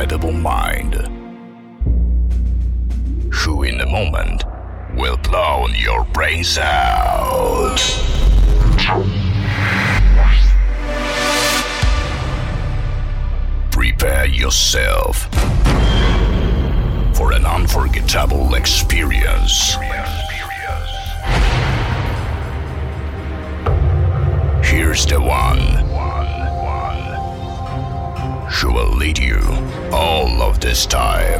incredible mind, who in a moment will blow your brains out. Prepare yourself for an unforgettable experience. Here's the one who will lead you all of this time.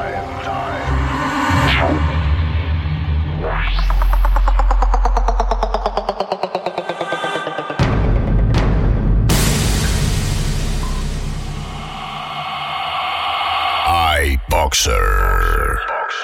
iBoxer.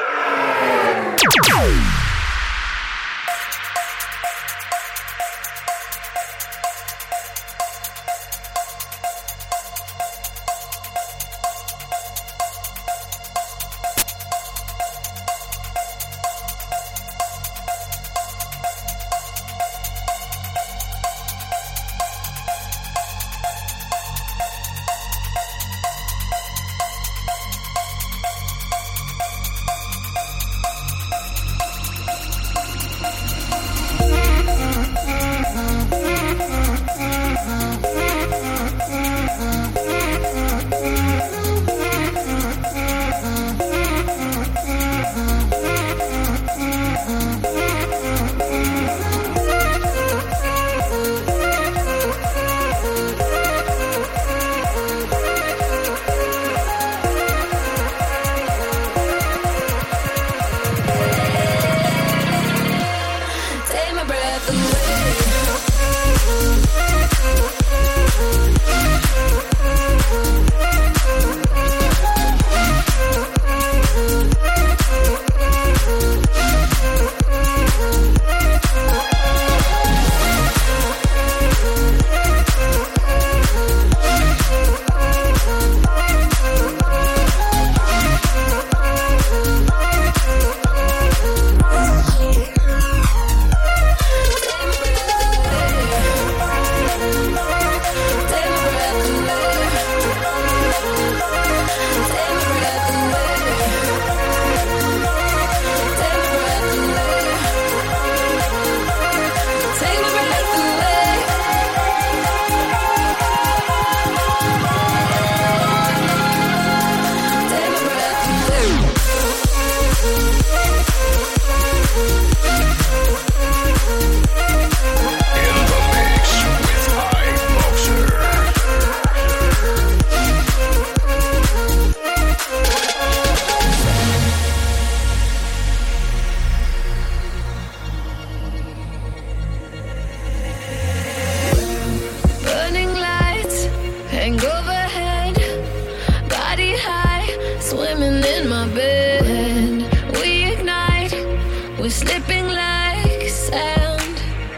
Swimming in my bed, we ignite, we're slipping like sand.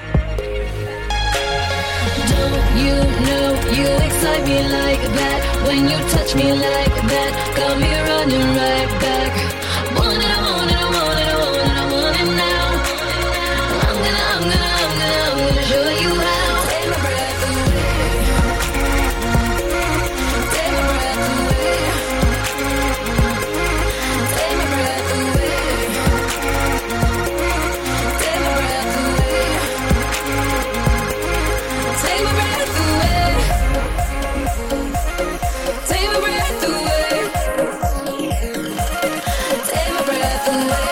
Don't you know you excite me like that? When you touch me like that, got me running right back. Want it, I want it, I want it, I want it, I want it now. I'm gonna show you how. Take my breath away. Take my breath away. Take my breath away. Take my breath away. Take my breath away. Take my breath away. Take my breath away.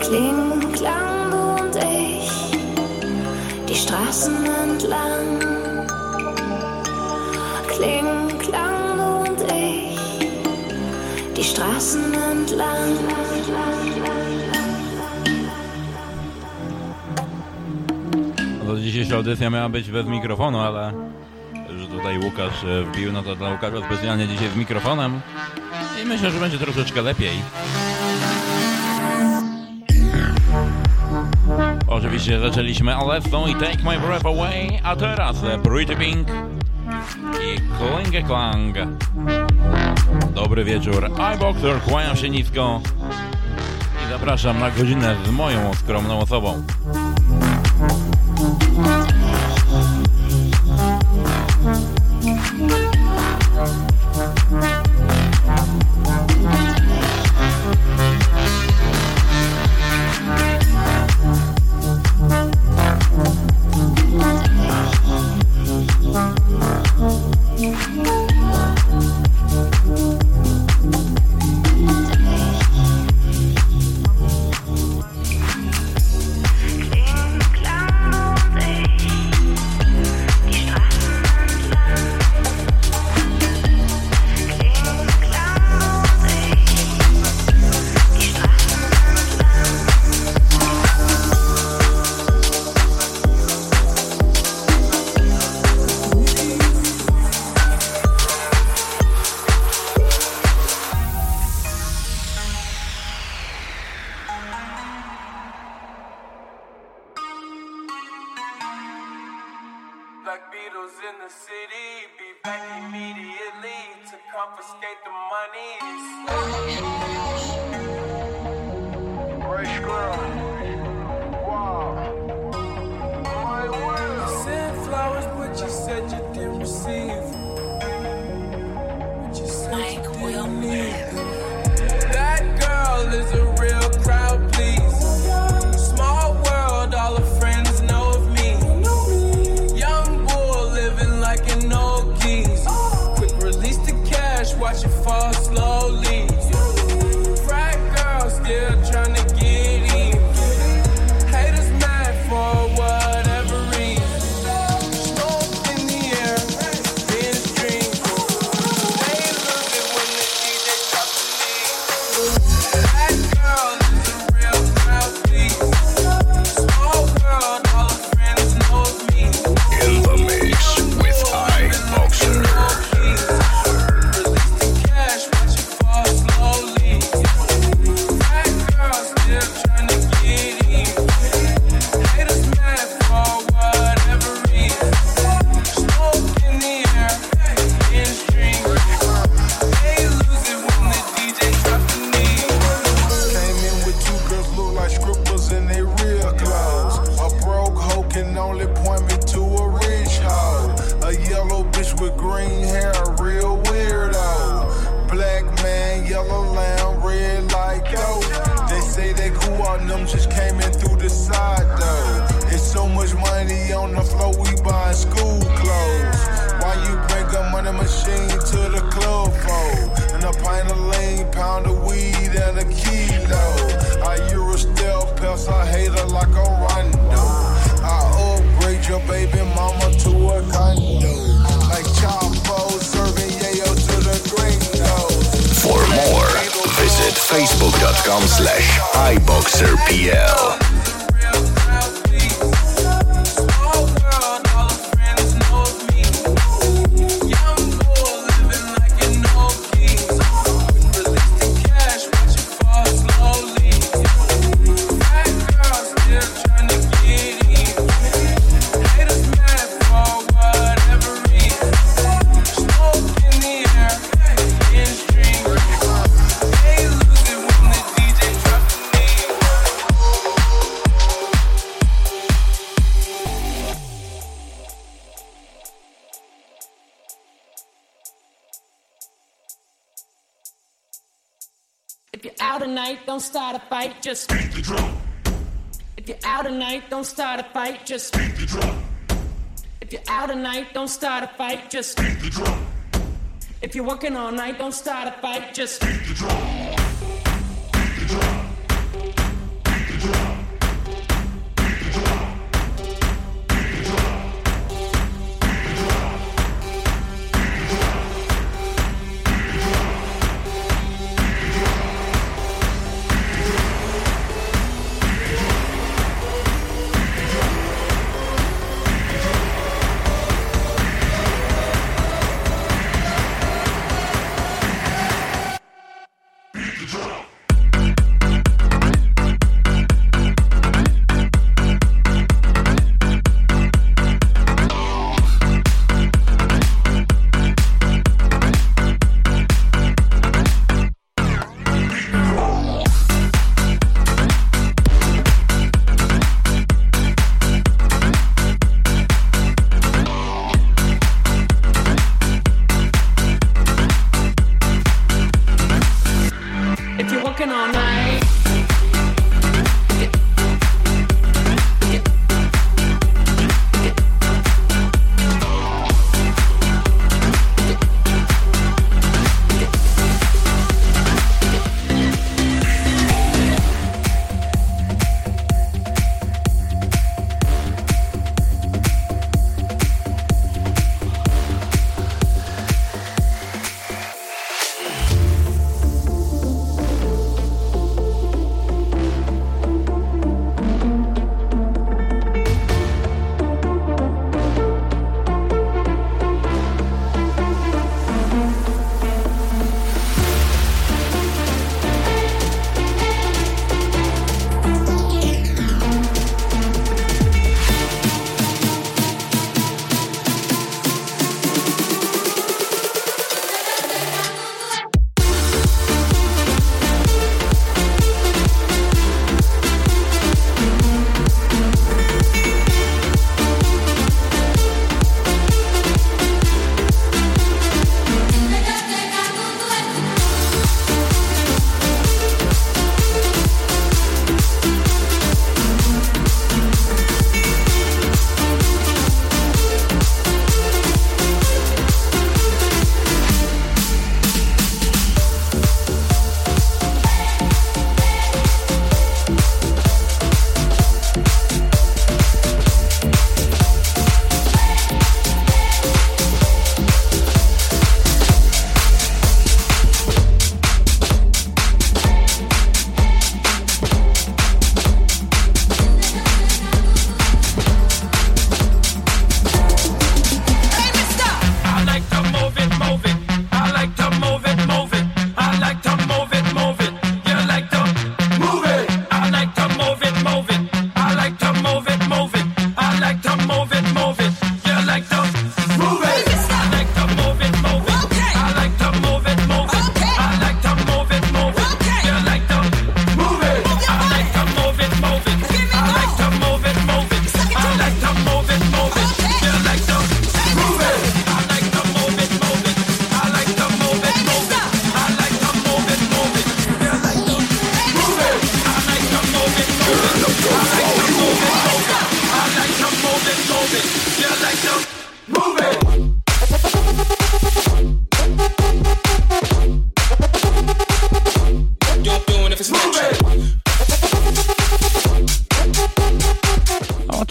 Kling, Klang, du und ich, die Straßen entlang. Kling, Klang, du und ich, die Straßen entlang. No, dzisiejsza audycja miała być bez mikrofonu, ale że tutaj Łukasz wbił, no to dla Łukasza specjalnie dzisiaj z mikrofonem i myślę, że będzie troszeczkę lepiej. Oczywiście zaczęliśmy Alesso i Take My Breath Away, a teraz Pretty Pink i Kling Klang. Dobry wieczór, iBoxer, kłaniam się nisko i zapraszam na godzinę z moją skromną osobą. Facebook.com/iBoxerPL. Don't start a fight, just beat the drum. If you're out tonight, don't start a fight, just beat the drum. If you're out tonight, don't start a fight, just beat the drum. If you're working all night, don't start a fight, just beat the drum. Beat the drum. Beat the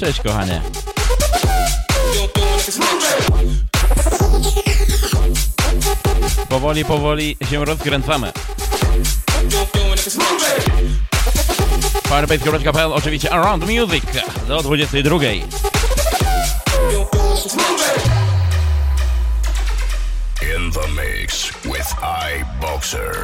Cześć, kochanie. Powoli się rozkręcamy. Firebase.pl, oczywiście Around Music do 22. In the mix with iBoxer.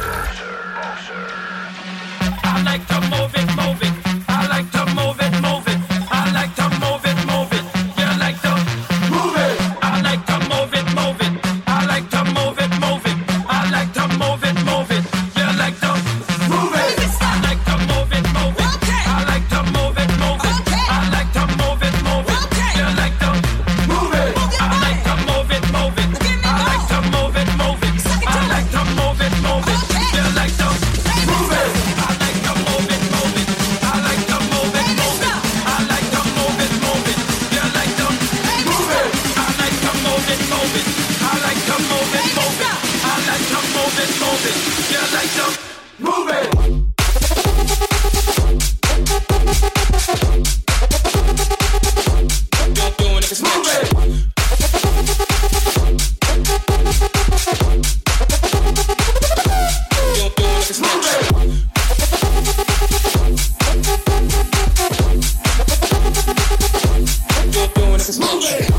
I like to move it, move it. I like to move it, move it. I like to move it, move it. You like to move it. I like to move it, move it. I like to move it, move it. I like to move it, move it. You like to move it. I like to move it, move it. I like to move it, move it. I like to move it, move it. You like to move it. I like to move it, move it. I like to move it, move it. I like to move it, move it. You like to move it. I like to move it, move it. I like to move it, move it. I like to move it, move it. You like to move it. I like to move it, move it. I like to move it, move it. I like to move it, move it. You like to move it. You're doing it, move it. You're doing it, move it. You're doing it, move it.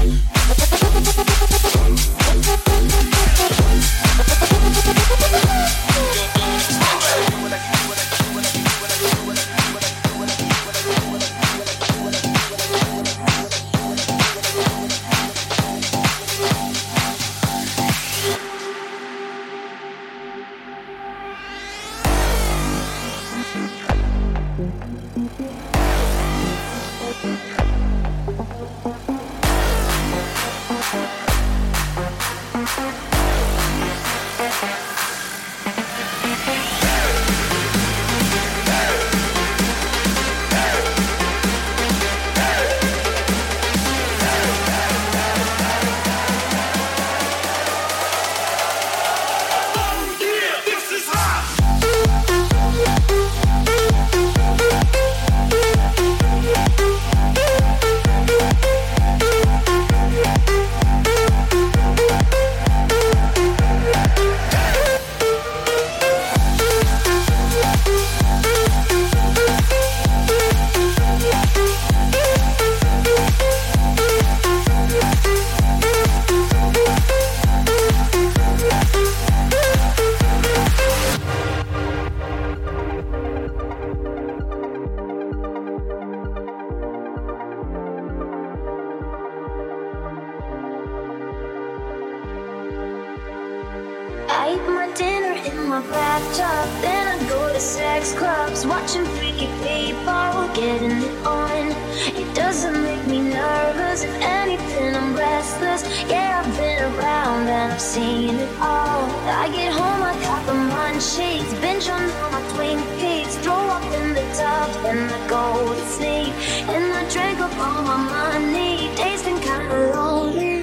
I eat my dinner in my bathtub, then I go to sex clubs, watching freaky people getting it on. It doesn't make me nervous, if anything I'm restless. Yeah, I've been around and I've seen it all. I get home, I got the munchies, binge on all my Twin Peaks, throw up in the tub, then I go to sleep. And I drink up all my money, days been kinda lonely.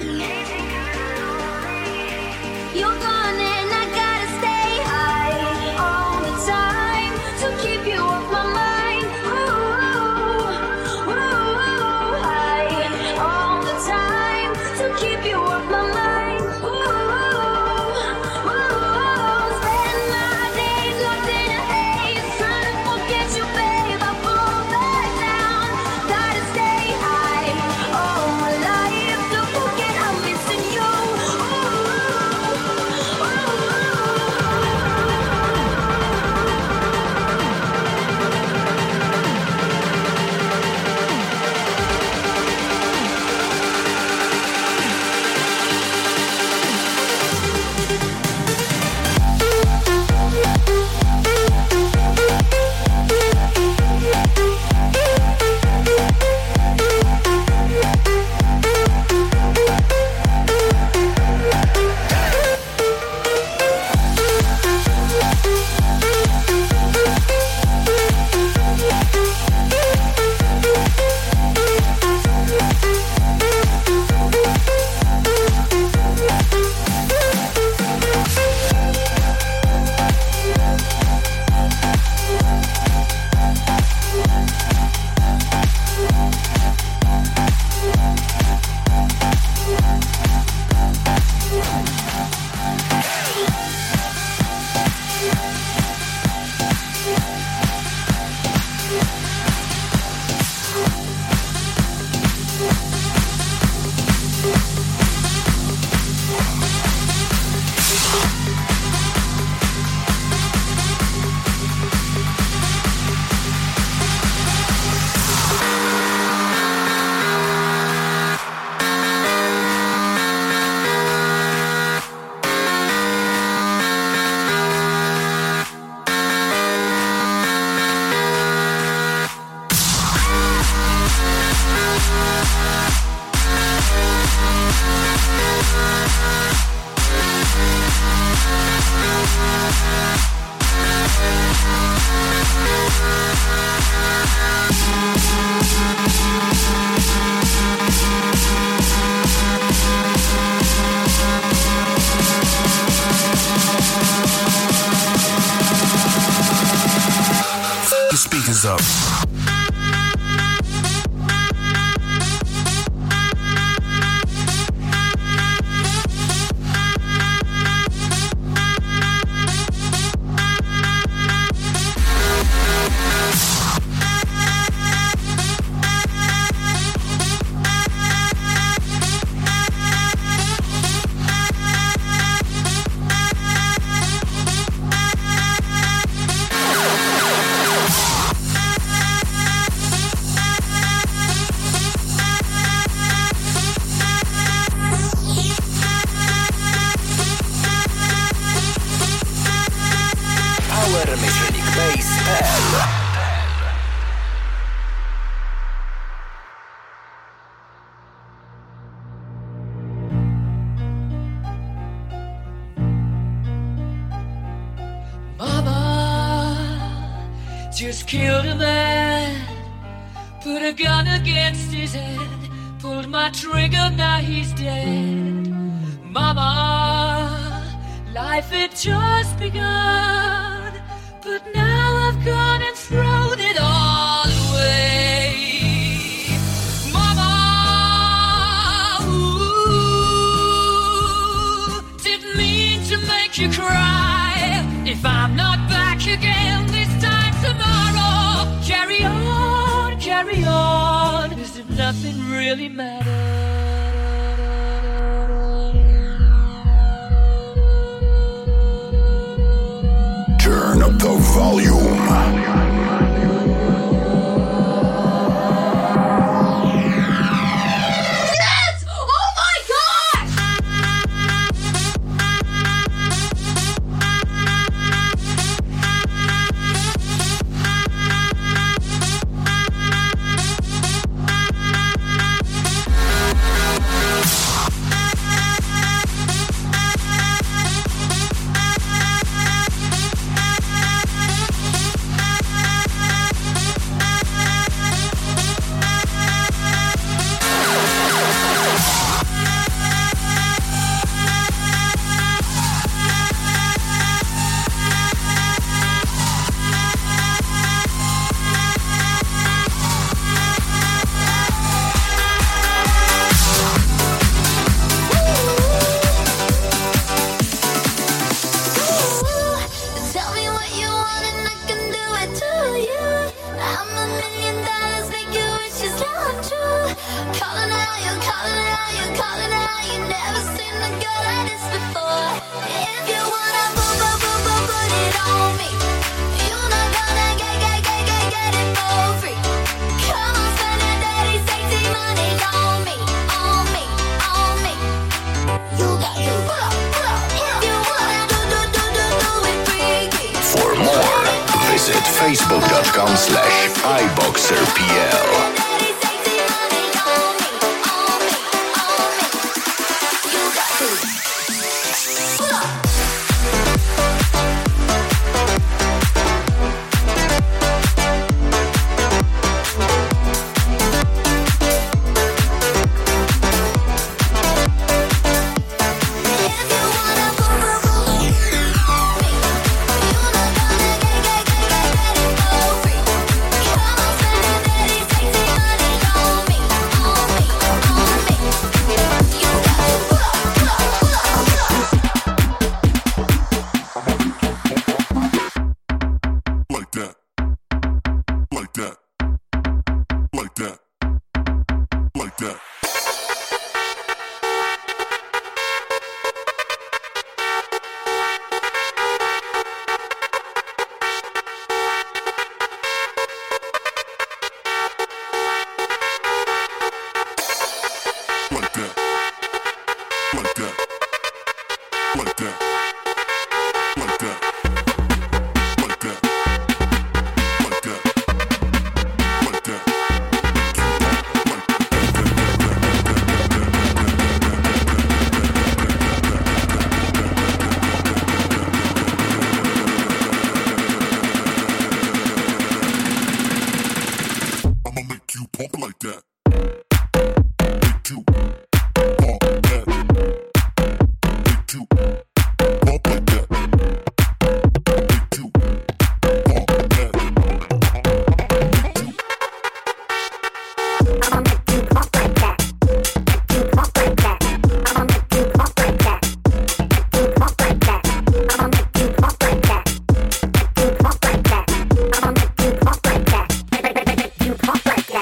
You're gone and I gotta stay high all the time to keep you off my mind. Ooh, ooh, high all the time to keep you off my mind. Ooh, spend my days locked in a haze, trying to forget you, babe. I fall back down. Speakers up. Just killed a man, put a gun against his head, pulled my trigger, now he's dead. Mama, life had just begun, but now I've gone and thrown it all away. Mama, ooh, didn't mean to make you cry. If I'm not back again this time tomorrow, carry on, as if nothing really matters. Turn up the volume. Facebook.com/iBoxerPL. Make you pump like that. Make you pump that. Make you pump like that. Make you pump that. I'ma make you pump like that. Make you pump like that. I'ma make you pump like that. Make you pump like that. I'ma make you pump like that. Make you pump like that. I'ma make you pump like that. Make you pump like that.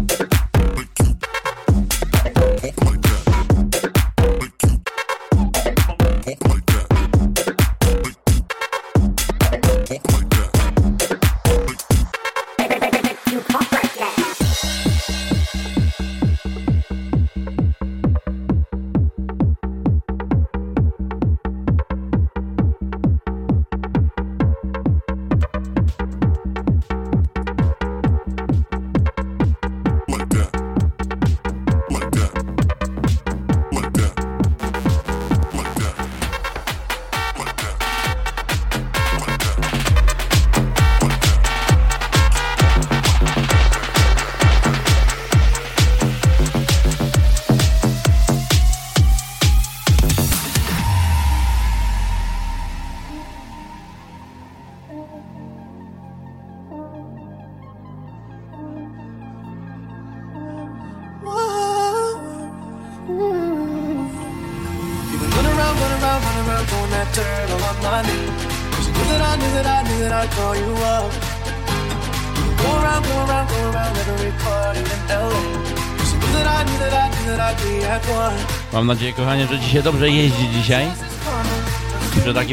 Mam nadzieję, kochanie, że Ci się dobrze jeździ dzisiaj. Przy takim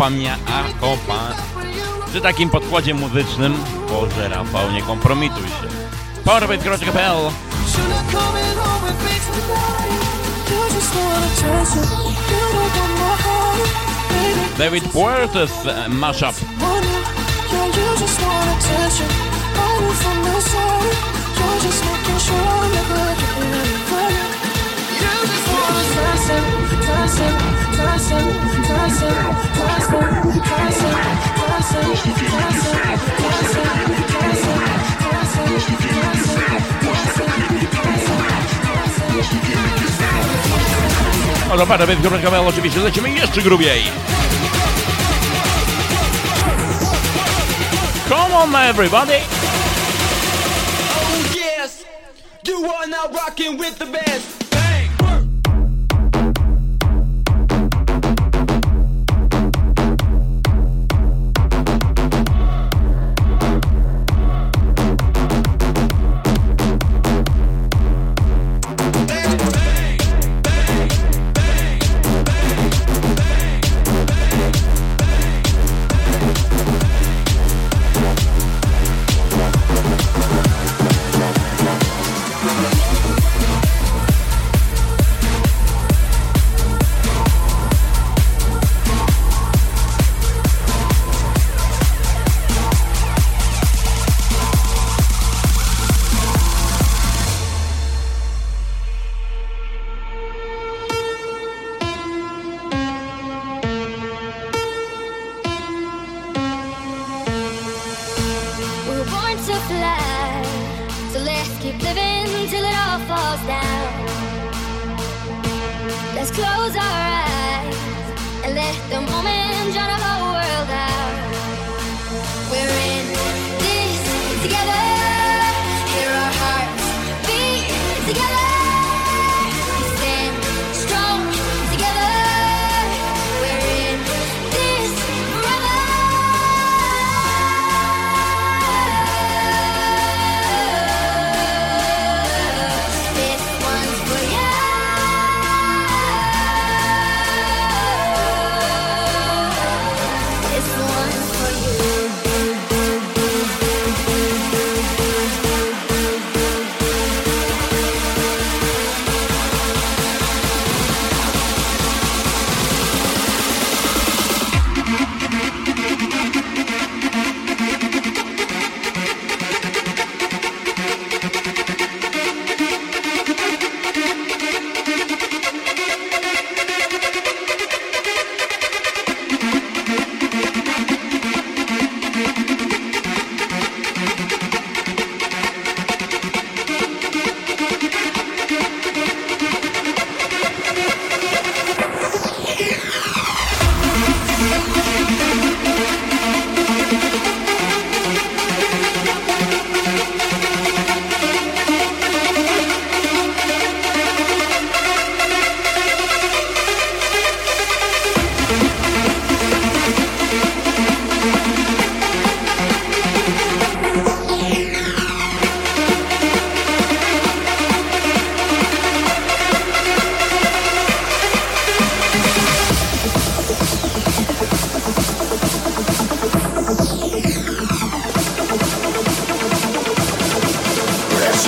przy takim podkładzie muzycznym. Boże, Rafał, nie kompromituj się. Powerbase.pl. David Puertas mashup. O, dobra, więc Góreczka oczywiście lecimy jeszcze grubiej. Come on, everybody! Oh yes, you are now rocking with the best.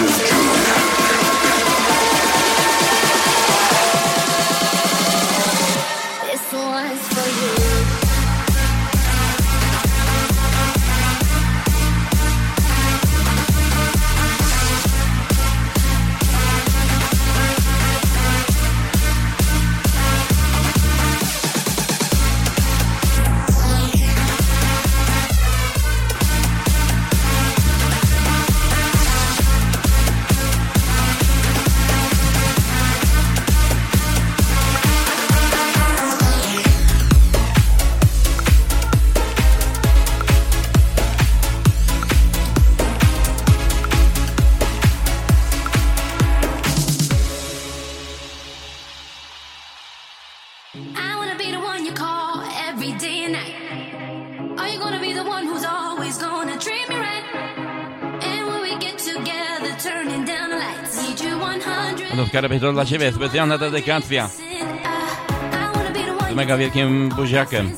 W Karabie dla Ciebie specjalna dedykacja z mega wielkim buziakiem.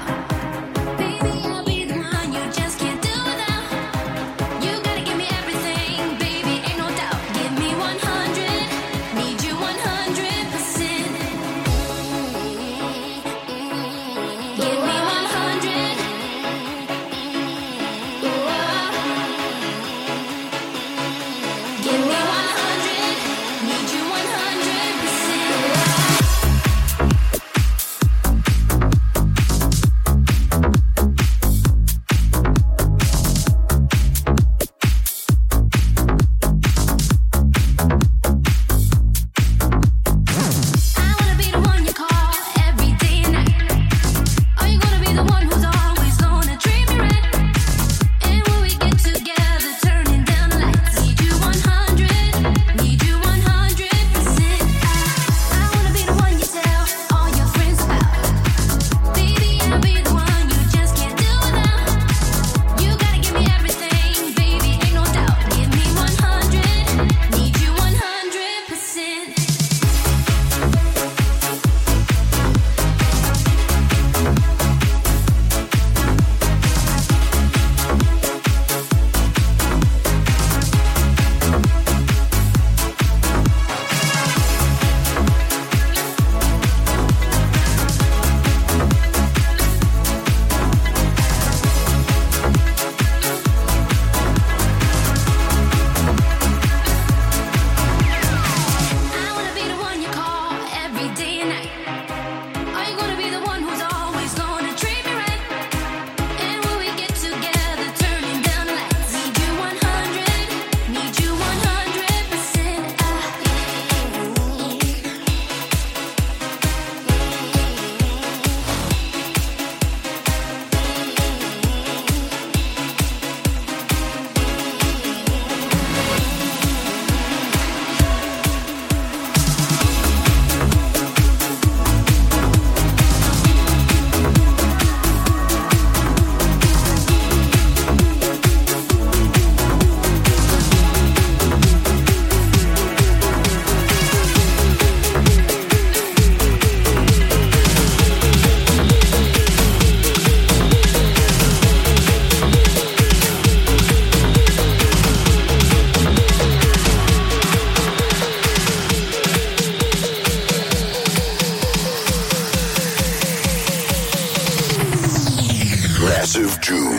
Massive June.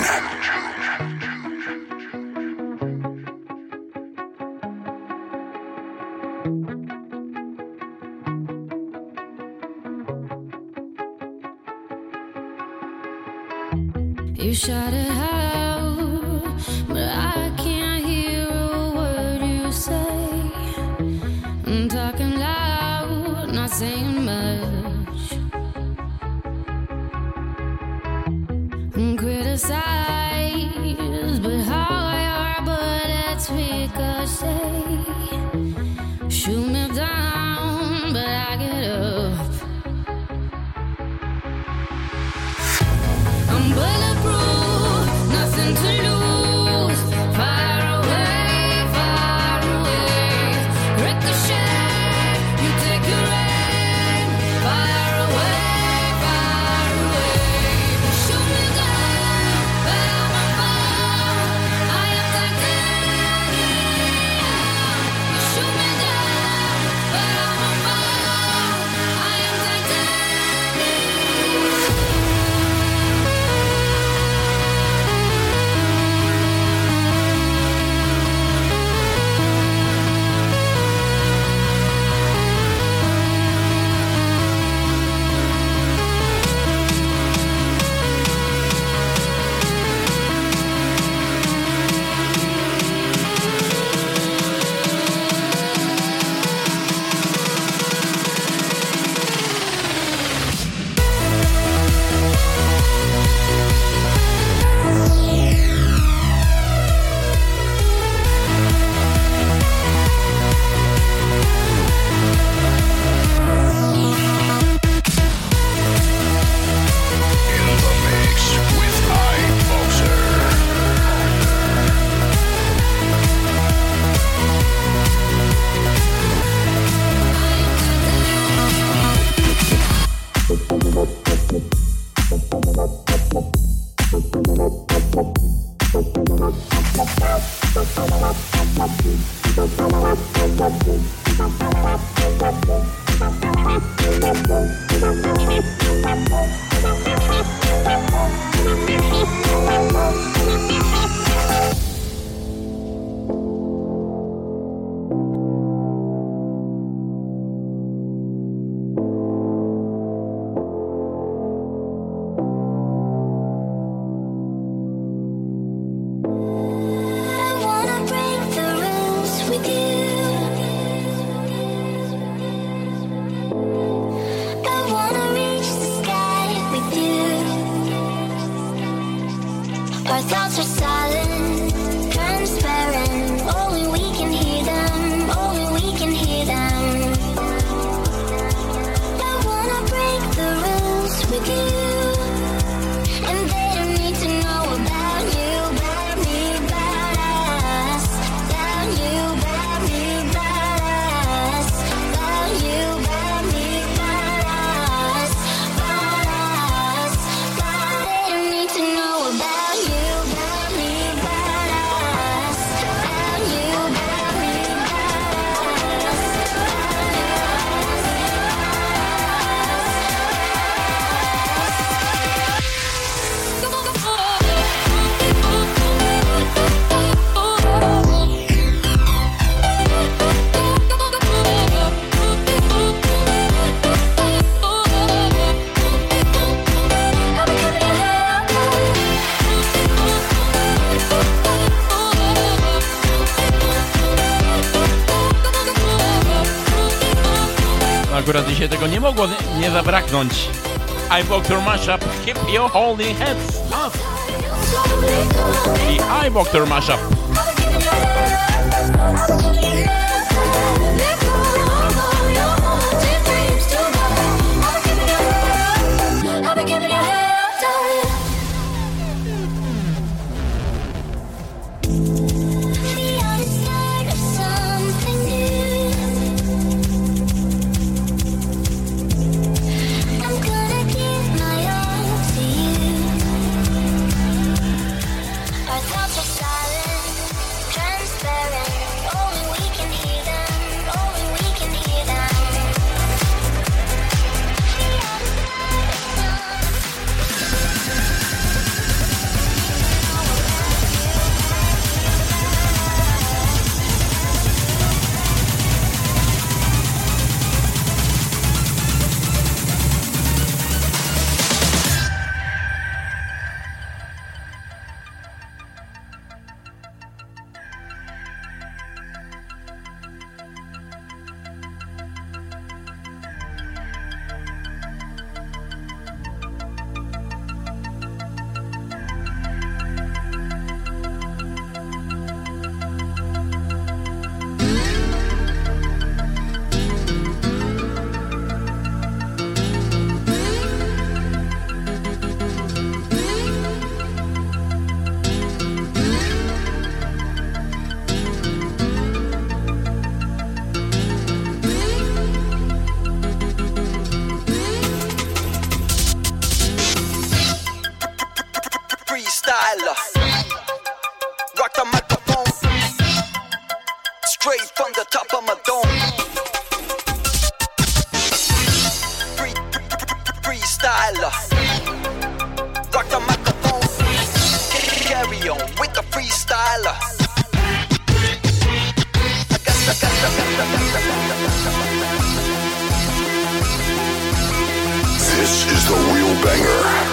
You shout it out, but I can't hear a word you say. I'm talking loud, not saying much. Criticize, but how your bullets ricochet. Shoot me down, but I get up. I'm bulletproof, nothing to lose. Far away, ricochet. You take your aim. Far away. Shoot me down, but I'm a fall. I am titanium. Our thoughts are silent, transparent. Only we can hear them, only we can hear them. I wanna break the rules with you, and they don't need to know about you, about me, about us, about you, about me, about us, about you, about me, about us, about us, about they don't need to know about you. Akurat dzisiaj tego nie mogło nie zabraknąć. iBoxer Mashup, Keep Your Holy Heads Up. I iBoxer Mashup. This is the real banger.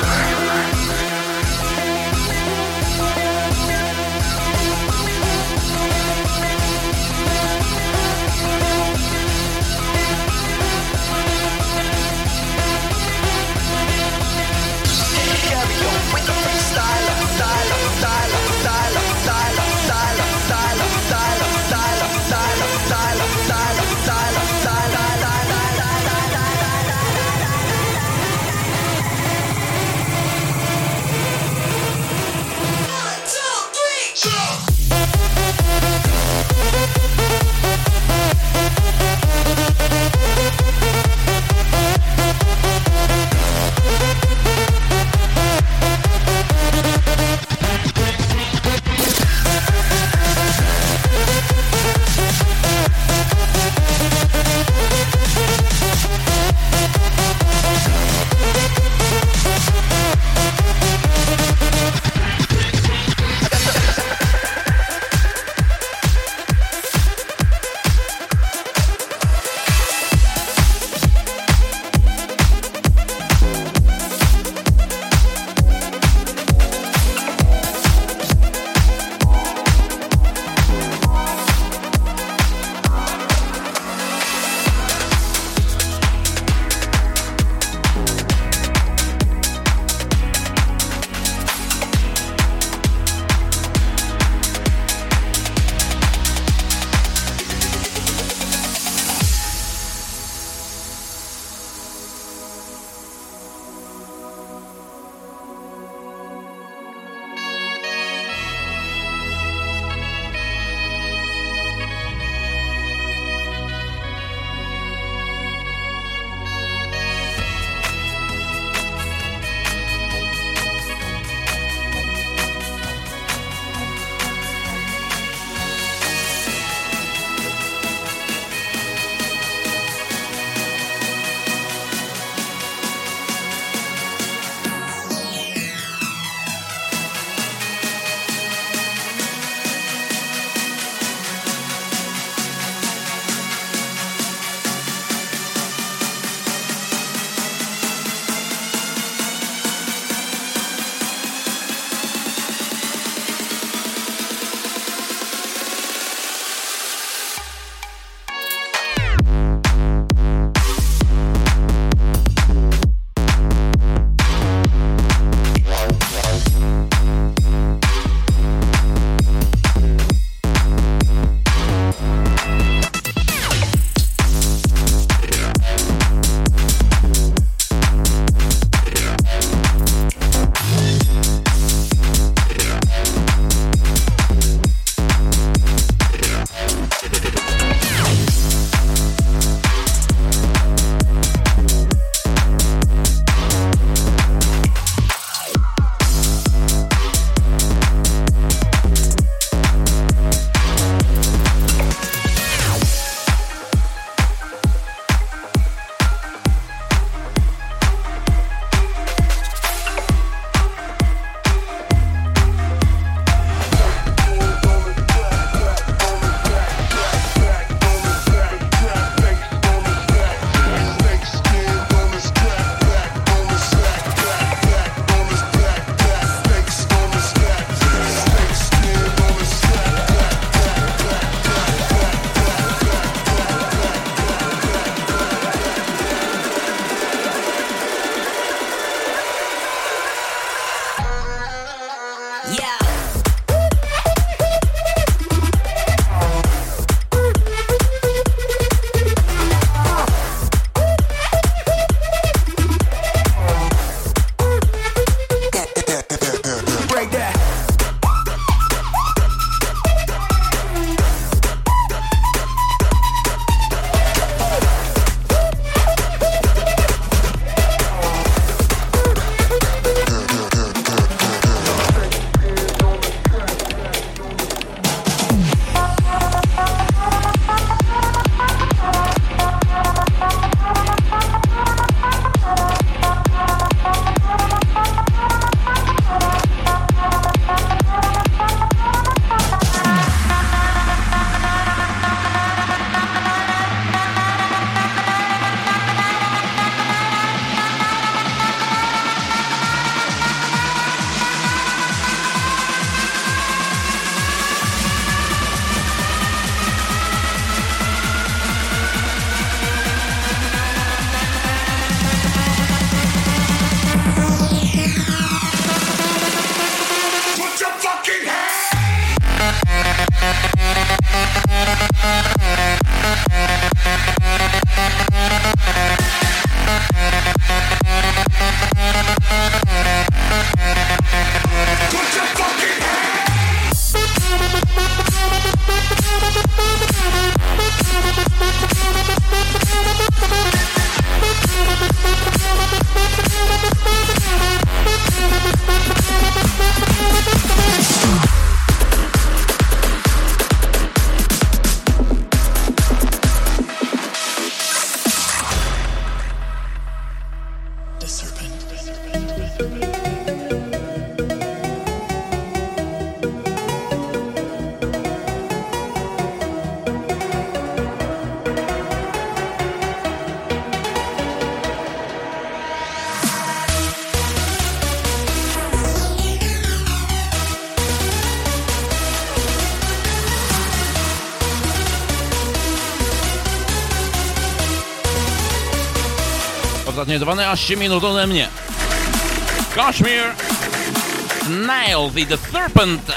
Ostatnie 12 minut ode mnie. Kashmir, Snails i The Serpent.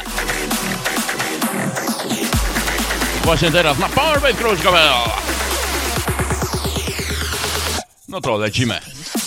Właśnie teraz na Powerwave Kruczkowe. No to lecimy.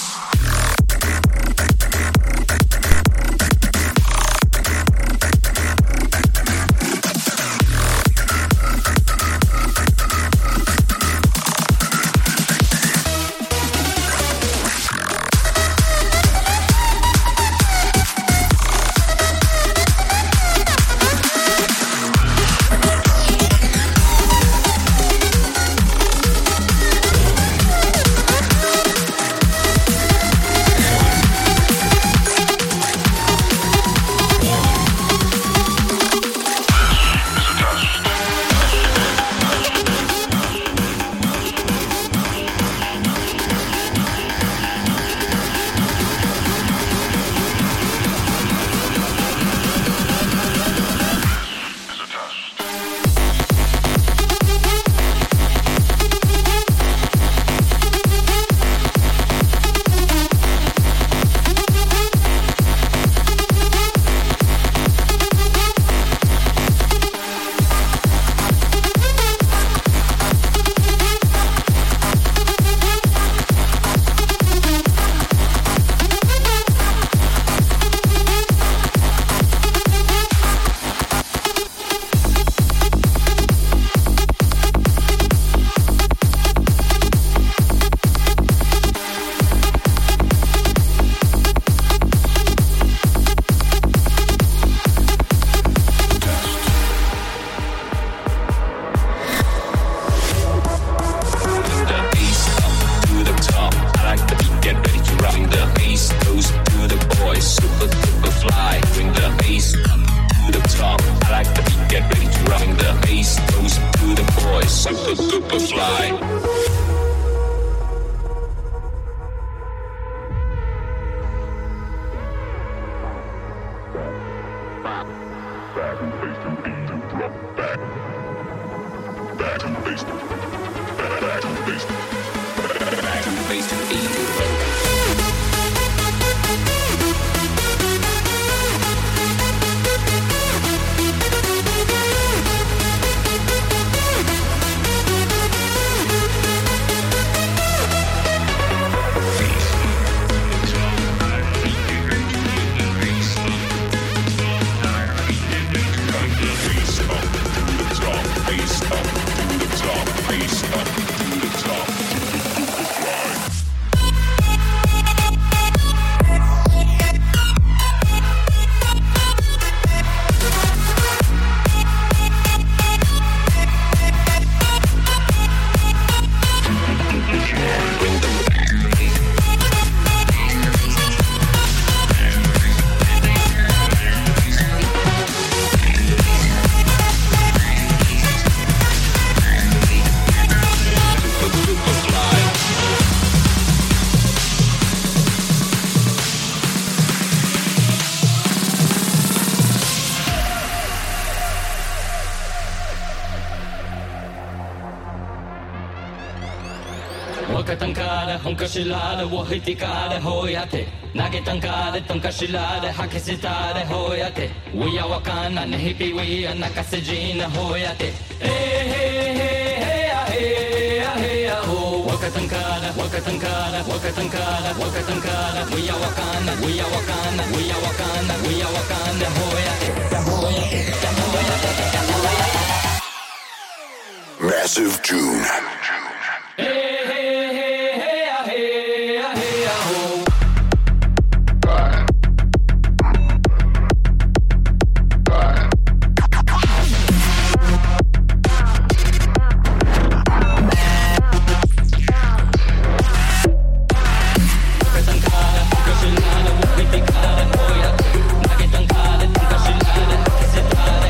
本かしらでを引きかでほやて投げたんかでとんかしらで吐き捨てたでほやてうやわかんなねひびうやなかせじなほやてへへへやへやへやほわかたんかでわかたんかでわかたんかでわかたんかでうやわかんなうやわかんなうやわかんなうやわかんなほやてだほやてだほやてだほやて Massive June.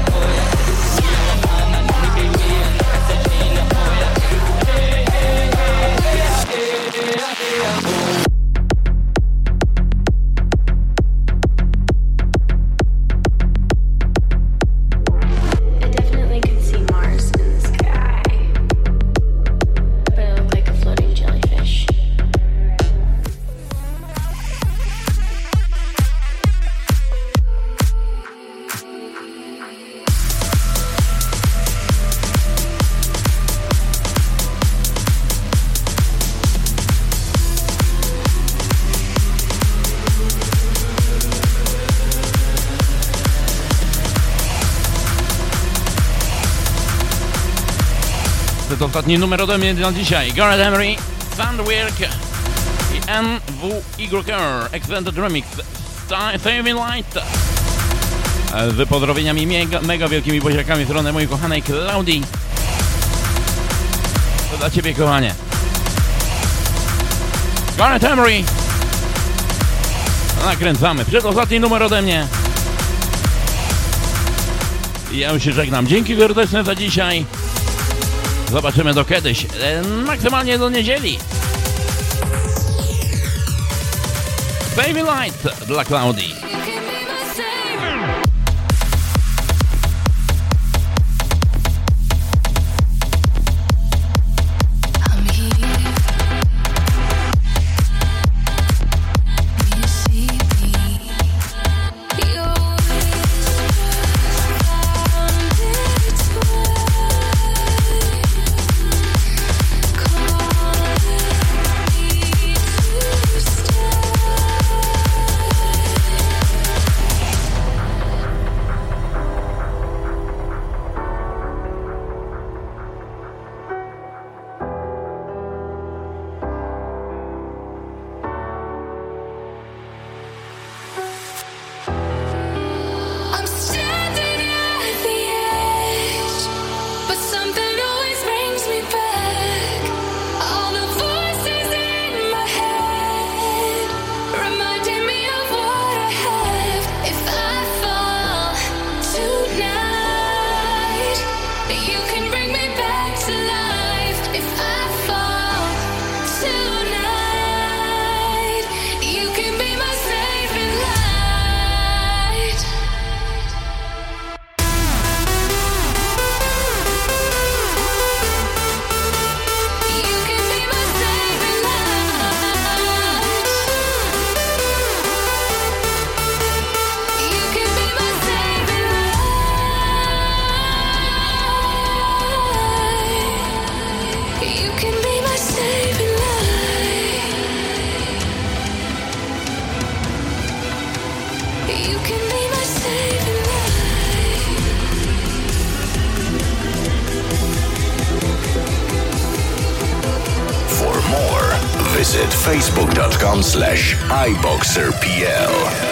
Hey niestety ostatni numer ode mnie na dzisiaj. Gareth Emery, Sandwork i NWYR Extended Remix Saving Light. Z pozdrowieniami mega wielkimi buziakami w stronę mojej kochanej Klaudii. To dla ciebie, kochanie. Gareth Emery. Nakręcamy. Przedostatni numer ode mnie. I ja już się żegnam. Dzięki serdeczne za dzisiaj. Zobaczymy do kiedyś. Maksymalnie do niedzieli. Baby Light dla Klaudii. Visit facebook.com/iBoxerPL.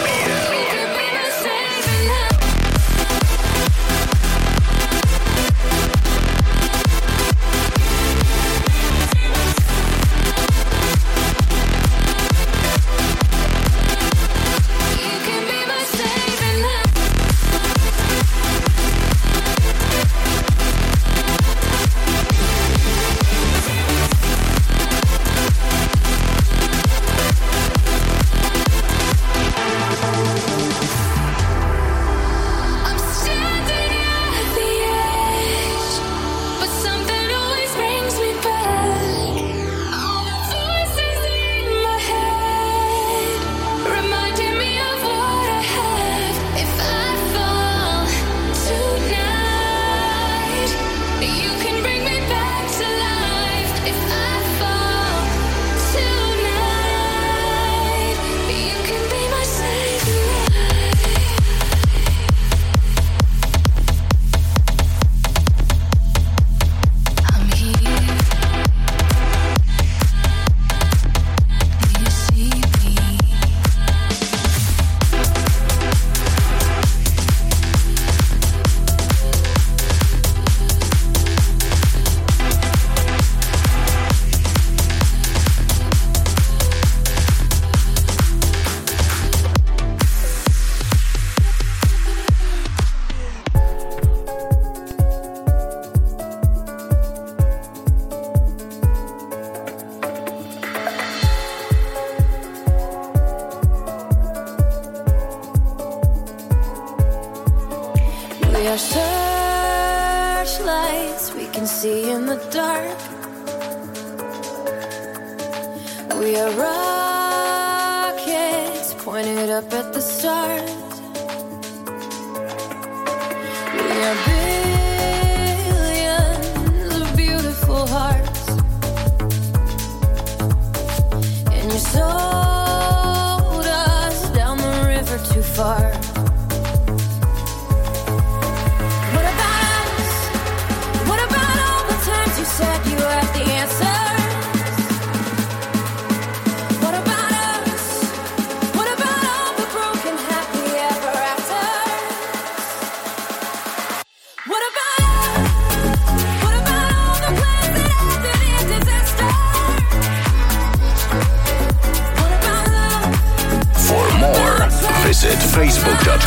What about all the times you said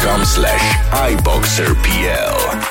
facebook.com/iboxerpl.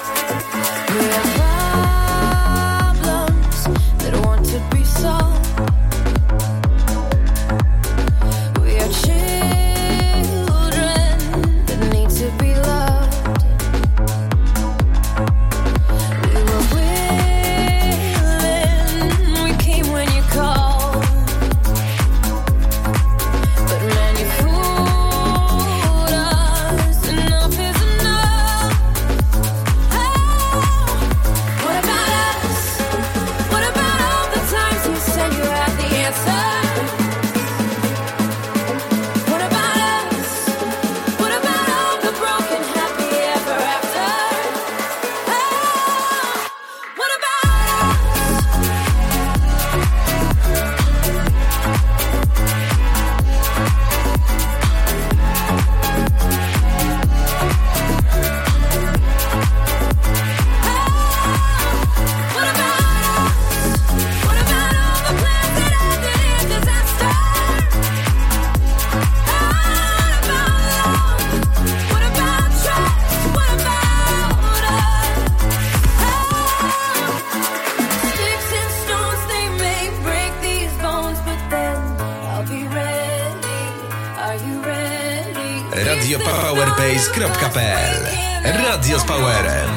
radiopowerbase.pl. Radio z Powerem.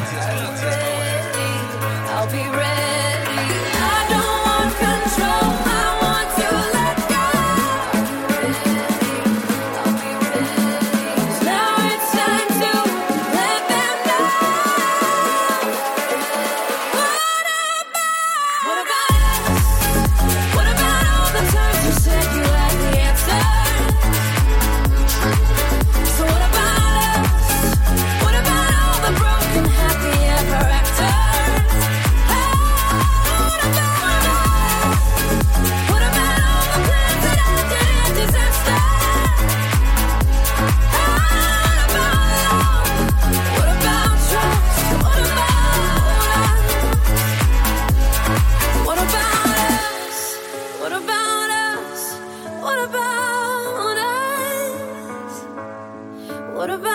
What about